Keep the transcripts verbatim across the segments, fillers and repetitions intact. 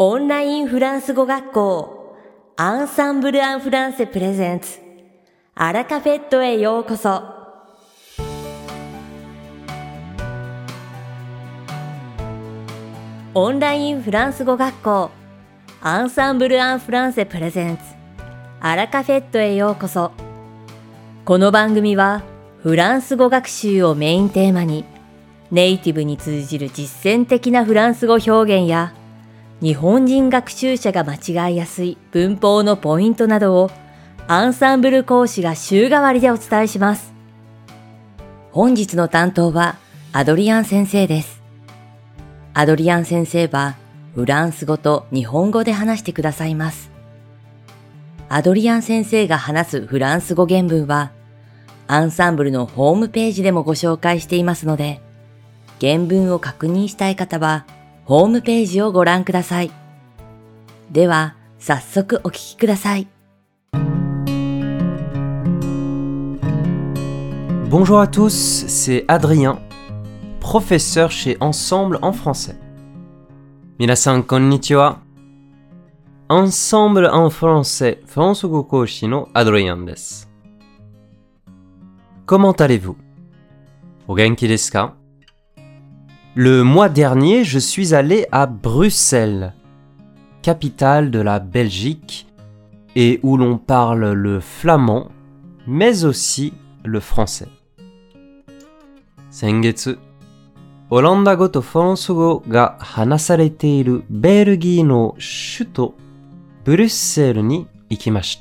オンラインフランス語学校アンサンブル・アン・フランセプレゼンツアラカフェットへようこそ。オンラインフランス語学校アンサンブル・アン・フランセプレゼンツアラカフェットへようこそ。この番組はフランス語学習をメインテーマにネイティブに通じる実践的なフランス語表現や日本人学習者が間違いやすい文法のポイントなどをアンサンブル講師が週替わりでお伝えします。本日の担当はアドリアン先生です。アドリアン先生はフランス語と日本語で話してくださいます。アドリアン先生が話すフランス語原文はアンサンブルのホームページでもご紹介していますので、原文を確認したい方はホームページをご覧ください。では、早速お聞きください。 Bonjour à tous, c'est Adrien, professeur chez Ensemble en français. 皆さんこんにちは。Ensemble en français フランス語講師のアドリアンです。Comment allez-vous? お元気ですか? Le mois dernier, je suis allé à Bruxelles, capitale de la Belgique, et où l'on parle le flamand, mais aussi le français. 先月、オランダ語とフランス語が話されているベルギーの首都ブリュッセルに行きました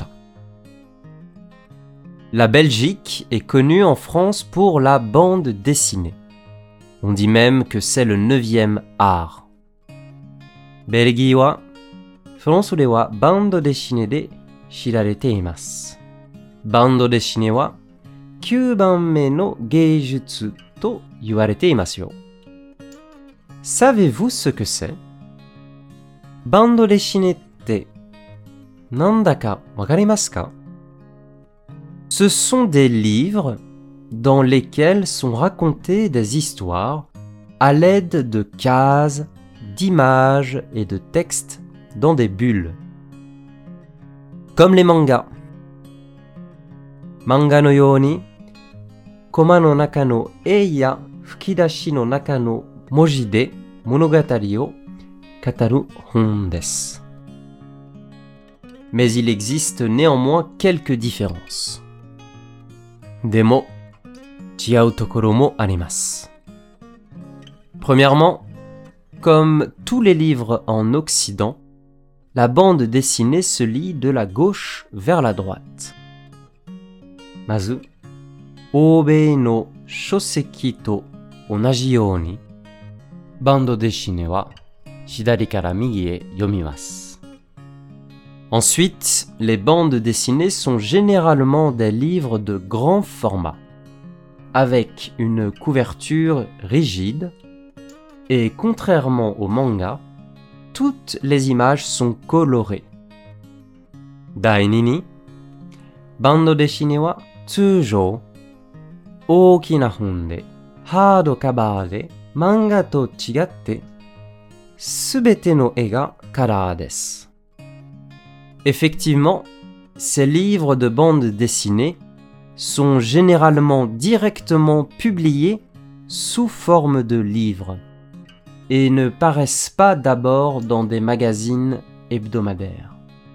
。La Belgique est connue en France pour la bande dessinée.On dit même que c'est le neuvième art. ベルギーはフランスではバンドデシネで知られています。バンドデシネはきゅうばんめの芸術と言われていますよ。Savez-vous ce que c'est? バンドデシネってなんだかわかりますか? Ce sont des livres,dans lesquels sont racontées des histoires à l'aide de cases, d'images et de textes dans des bulles. Comme les mangas. Manga no you ni, koma no naka no e ya fukidashi no naka no moji de monogatari o kataru hon desu. Mais il existe néanmoins quelques différences. Des mots Premièrement, comme tous les livres en Occident, la bande dessinée se lit de la gauche vers la droite. Mazu, Oubei no shoseki to onaji you ni, bande dessinée wa hidari kara migi e yomimasu. Ensuite, les bandes dessinées sont généralement des livres de grand format, avec une couverture rigide, et contrairement au manga, toutes les images sont colorées. Daini ni, bando deshine wa tsujou, ookina hon de, hard cover de, manga to chigatte, subete no e ga kalar desu. Effectivement, ces livres de bande dessinée sont généralement directement publiés sous forme de livres et ne paraissent pas d'abord dans des magazines hebdomadaires.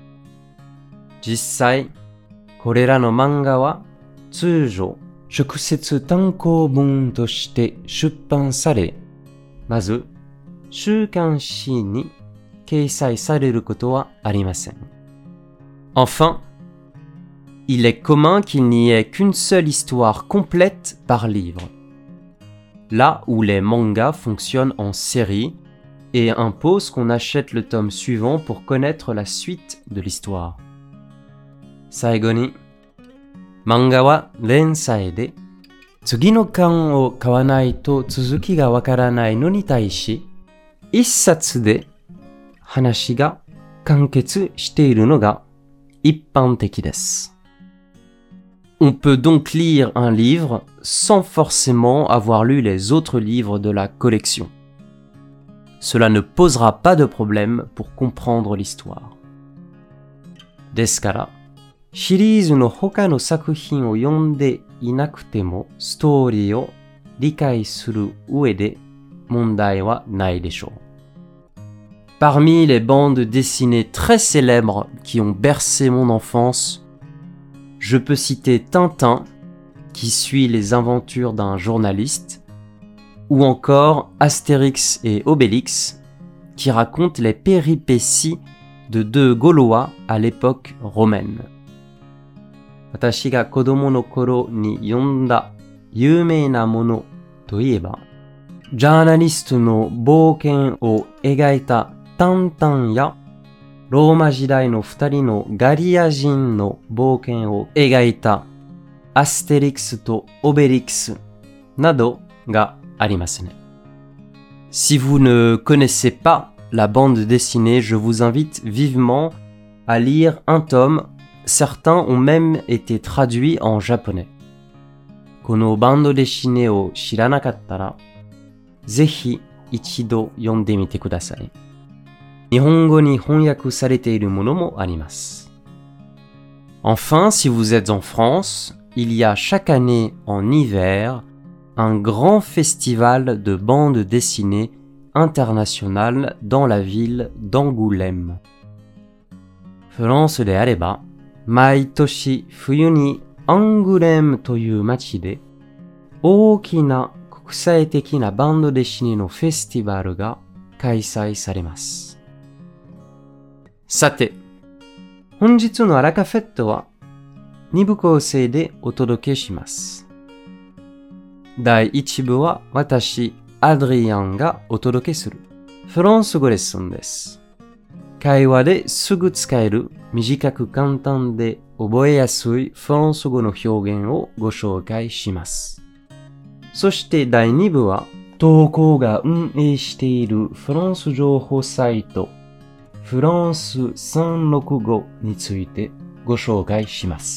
Jissai, korera no manga wa tsujou shukusetsu tankobun to shite shuppan sare, mazu shukanshi ni keisai sareru koto wa arimasen. Enfin, il est commun qu'il n'y ait qu'une seule histoire complète par livre, là où les mangas fonctionnent en série et imposent qu'on achète le tome suivant pour connaître la suite de l'histoire. Saigo ni, manga wa rensai de, tsugi no kan o kawanai to tsuzuki ga wakaranai no ni taishi, issatsu de hanashi ga kanketsu shiteiru no ga ippanteki desu. On peut donc lire un livre sans forcément avoir lu les autres livres de la collection. cela ne posera pas de problème pour comprendre l'histoire. ですから、シリーズの他の作品を読んでいなくてもストーリーを理解する上で問題はないでしょう。Parmi les bandes dessinées très célèbres qui ont bercé mon enfance, je peux citer Tintin, qui suit les aventures d'un journaliste, ou encore Astérix et Obélix, qui racontent les péripéties de deux Gaulois à l'époque romaine. 私が子供の頃に読んだ有名なものといえば、ジャーナリストの冒険を描いたタンタンや、ローマ時代の二人のガリア人の冒険を描いたアステリクスとオベリクスなどがありますね。Si vous ne connaissez pas la bande dessinée, je vous invite vivement à lire un tome. Certains ont même été traduits en japonais. このバンドデシネを知らなかったら、ぜひ一度読んでみてください。日本語に翻訳されているものもあります。Enfin, si vous êtes en France, il y a chaque année en hiver un grand festival de bande dessinée internationale dans la ville d'Angoulême. フランスであれば、毎年冬にアングレムという町で大きな国際的なバンドデシネのフェスティバルが開催されます。さて、本日のアラカフェットはに部構成でお届けします。だいいち部は私、アドリアンがお届けするフランス語レッスンです。会話ですぐ使える短く簡単で覚えやすいフランス語の表現をご紹介します。そしてだいに部は投稿が運営しているフランス情報サイトフランスさんろくごについてご紹介します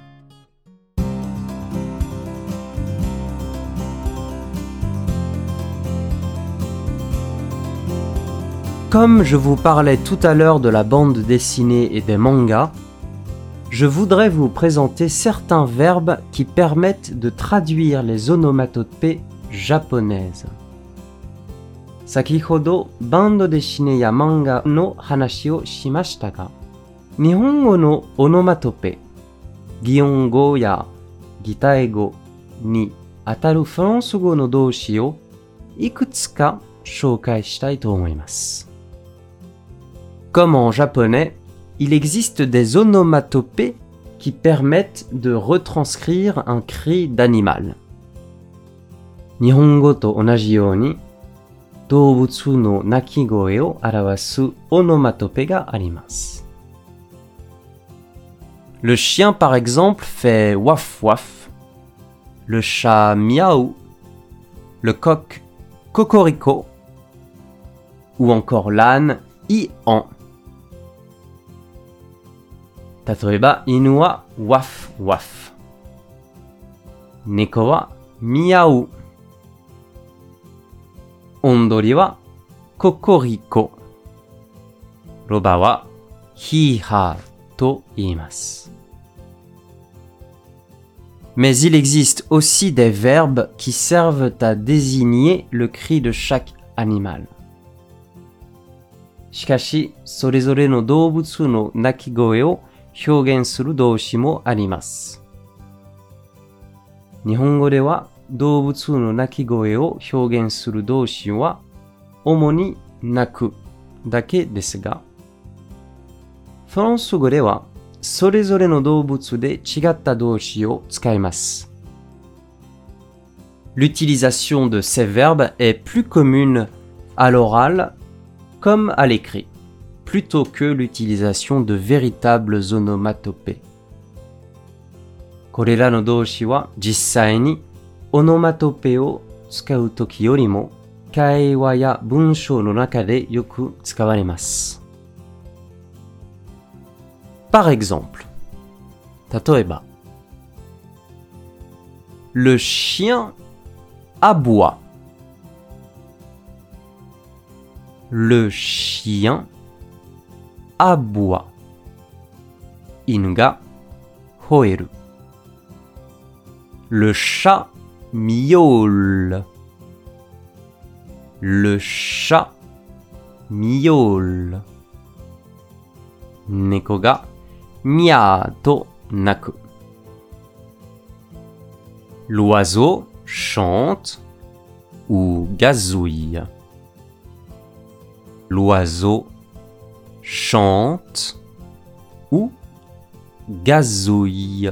。Comme je vous parlais tout à l'heure de la bande dessinée et des mangas, je voudrais vous présenter certains verbes qui permettent de traduire les onomatopées japonaises. 先ほどバンドデシネや漫画の話をしましたが、日本語のオノマトペ、擬音語や擬態語にあたるフランス語の動詞をいくつか紹介したいと思います。Comme en japonais, il existe des onomatopées qui permettent de retranscrire un cri d'animal. 日本語と同じように、動物の鳴き声を表すオノマトペがあります。Le chien, par exemple, fait waf waf. Le chat miaou. Le coq cocorico. Ou encore l'âne i-an. 例えば、犬はワフワフ。猫はミヤウ。オンドリはココリコ。ロバはヒーハーと言います。Mais il existe aussi des verbes qui servent à désigner le cri de chaque animal. しかし、それぞれの動物の鳴き声を表現する動詞もあります。日本語では動物の鳴き声を表現する動詞は主に鳴くだけですが、フランス語ではそれぞれの動物で違った動詞を使います。L'utilisation de ces verbes est plus commune à l'oral comme à l'écrit, plutôt que l'utilisation de véritables onomatopées. これらの動詞は実際にオノマトペを使うときよりも会話や文章の中でよく使われます。Par exemple, 例えば Le chien aboie. Le chien aboie. 犬が吠える。Le chat miaule. Le chat miaule. 猫がミャーと鳴く。L'oiseau chante ou gazouille. L'oiseau chante ou gazouille.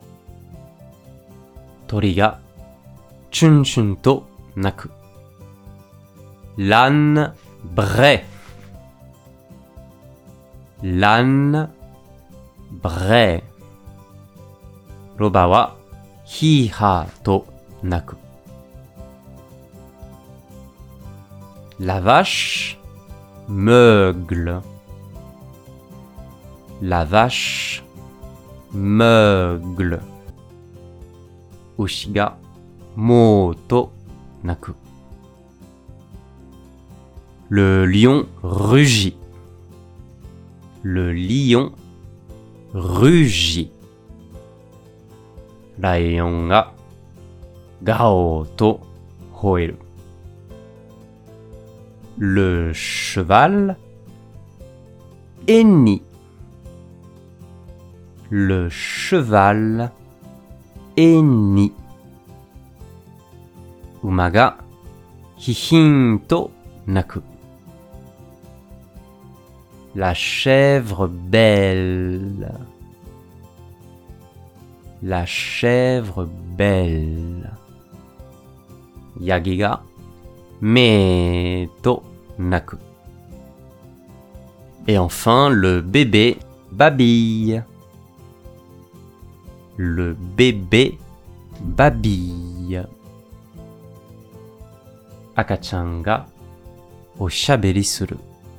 鳥がチュンチュンと鳴く。L'âne braie. L'âne braie. ロバはヒーハーと鳴く。La vache meugle. La vache meugle. 牛がモーと鳴く。Le lion rugit. Le lion rugit. ライオンがガオーと吠える。Le cheval hennit. Le cheval hennit. 馬がヒヒーンと鳴く。La chèvre belle. La chèvre belle. ヤギがメーと鳴く。Et enfin, le bébé babille. Le bébé babille. 赤ちゃんがおしゃべりする。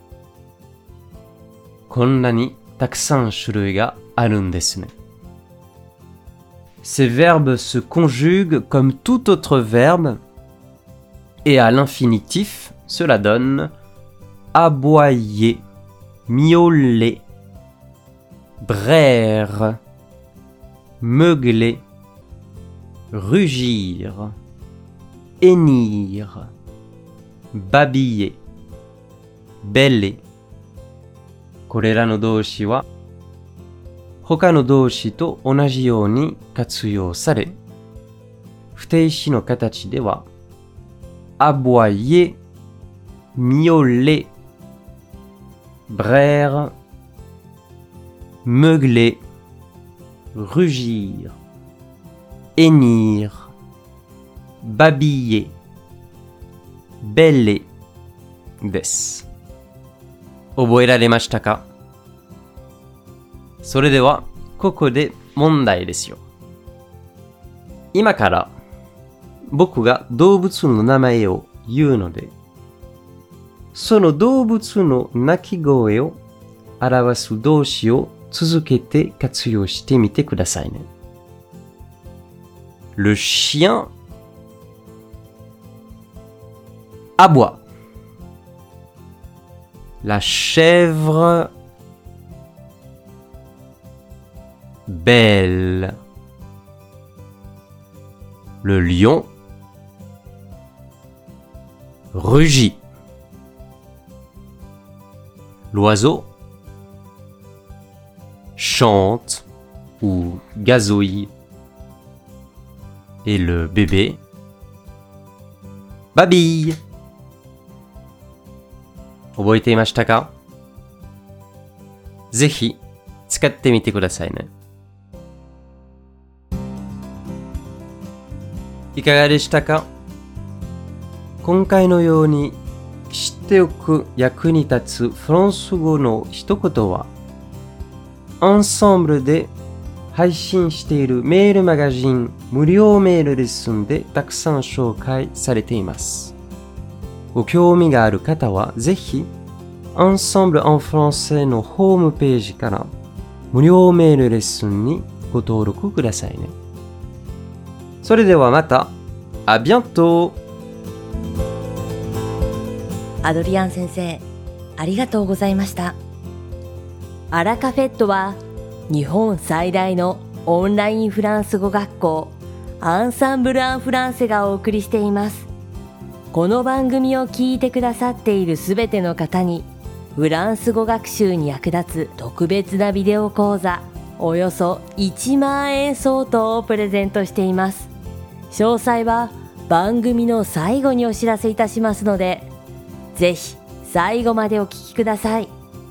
こんなにたくさん種類があるんですね。Ces verbes se conjuguent comme tout autre verbe et à l'infinitif, cela donne aboyer, miauler, braire, meugler, rugir, hennir, babiller, bêler. これらの動詞は他の動詞と同じように活用され、不定詞の形ではaboyer, miauler, braire, meugler, rugir, hennir, babiller, bêler です。覚えられましたか？それではここで問題ですよ。今から僕が動物の名前を言うので、その動物の鳴き声を表す動詞を続けて活用してみてくださいね。Le chien aboie. La chèvre belle. Le lion rugit. L'oiseau chante ou gazouille. Et le bébé babille. 覚えていましたか？ぜひ使ってみてくださいね。いかがでしたか？今回のように知っておく役に立つフランス語の一言は、アンサンブルで配信しているメールマガジン無料メールレッスンでたくさん紹介されています。ご興味がある方はぜひ Ensemble en Français のホームページから無料メールレッスンにご登録くださいね。それではまた、à bientôt! アドリアン先生、ありがとうございました。アラカフェットは日本最大のオンラインフランス語学校アンサンブル・アン・フランセがお送りしています。この番組を聞いてくださっているすべての方にフランス語学習に役立つ特別なビデオ講座およそいちまんえん相当をプレゼントしています。詳細は番組の最後にお知らせいたしますので、ぜひ最後までお聞きください。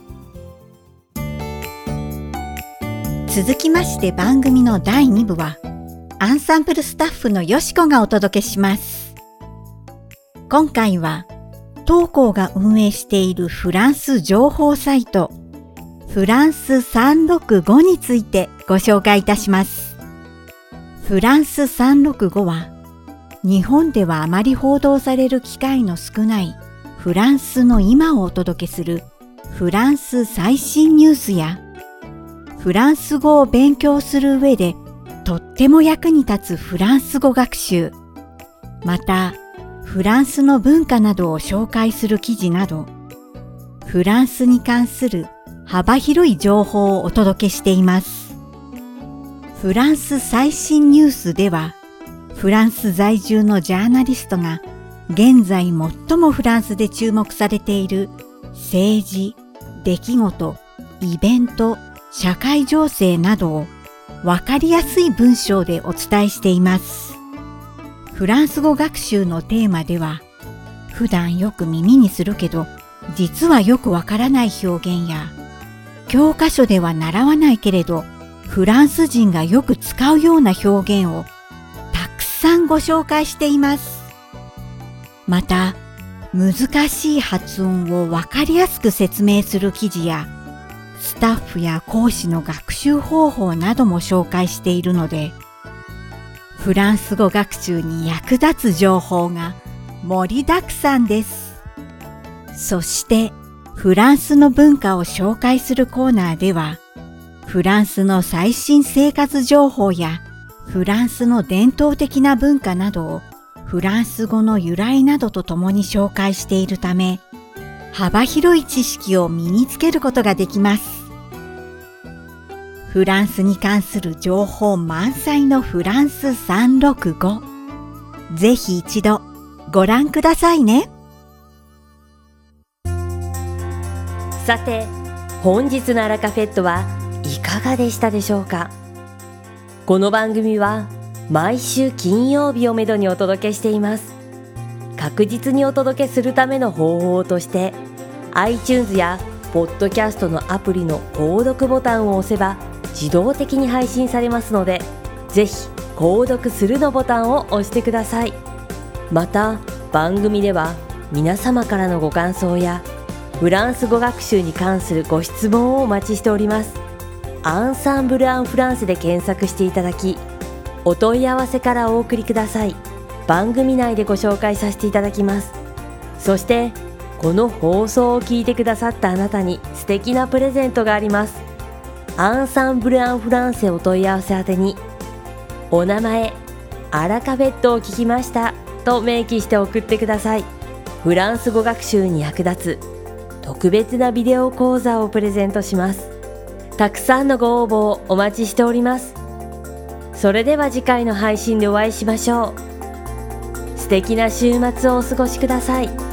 続きまして番組のだいにぶはアンサンブルスタッフのよしこがお届けします。今回は当校が運営しているフランス情報サイトフランスさんろくごについてご紹介いたします。フランスさんろくごは日本ではあまり報道される機会の少ないフランスの今をお届けするフランス最新ニュースやフランス語を勉強する上でとっても役に立つフランス語学習、またフランスの文化などを紹介する記事など、フランスに関する幅広い情報をお届けしています。フランス最新ニュースでは、フランス在住のジャーナリストが現在最もフランスで注目されている政治、出来事、イベント、社会情勢などをわかりやすい文章でお伝えしています。フランス語学習のテーマでは、普段よく耳にするけど、実はよくわからない表現や、教科書では習わないけれど、フランス人がよく使うような表現をたくさんご紹介しています。また、難しい発音をわかりやすく説明する記事や、スタッフや講師の学習方法なども紹介しているので、フランス語学習に役立つ情報が盛りだくさんです。そして、フランスの文化を紹介するコーナーでは、フランスの最新生活情報やフランスの伝統的な文化などをフランス語の由来などとともに紹介しているため、幅広い知識を身につけることができます。フランスに関する情報満載のフランスさんろくご。ぜひ一度ご覧くださいね。 さて、本日のアラカフェットはいかがでしたでしょうか。この番組は毎週金曜日をめどにお届けしています。確実にお届けするための方法として iTunes やポッドキャストのアプリの購読ボタンを押せば自動的に配信されますので、ぜひ購読するのボタンを押してください。また番組では皆様からのご感想やフランス語学習に関するご質問をお待ちしております。アンサンブル・アン・フランスで検索していただき、お問い合わせからお送りください。番組内でご紹介させていただきます。そしてこの放送を聞いてくださったあなたに素敵なプレゼントがあります。アンサンブル・アン・フランセお問い合わせ宛てに、お名前、アラカフェットを聞きましたと明記して送ってください。フランス語学習に役立つ特別なビデオ講座をプレゼントします。たくさんのご応募をお待ちしております。それでは次回の配信でお会いしましょう。素敵な週末をお過ごしください。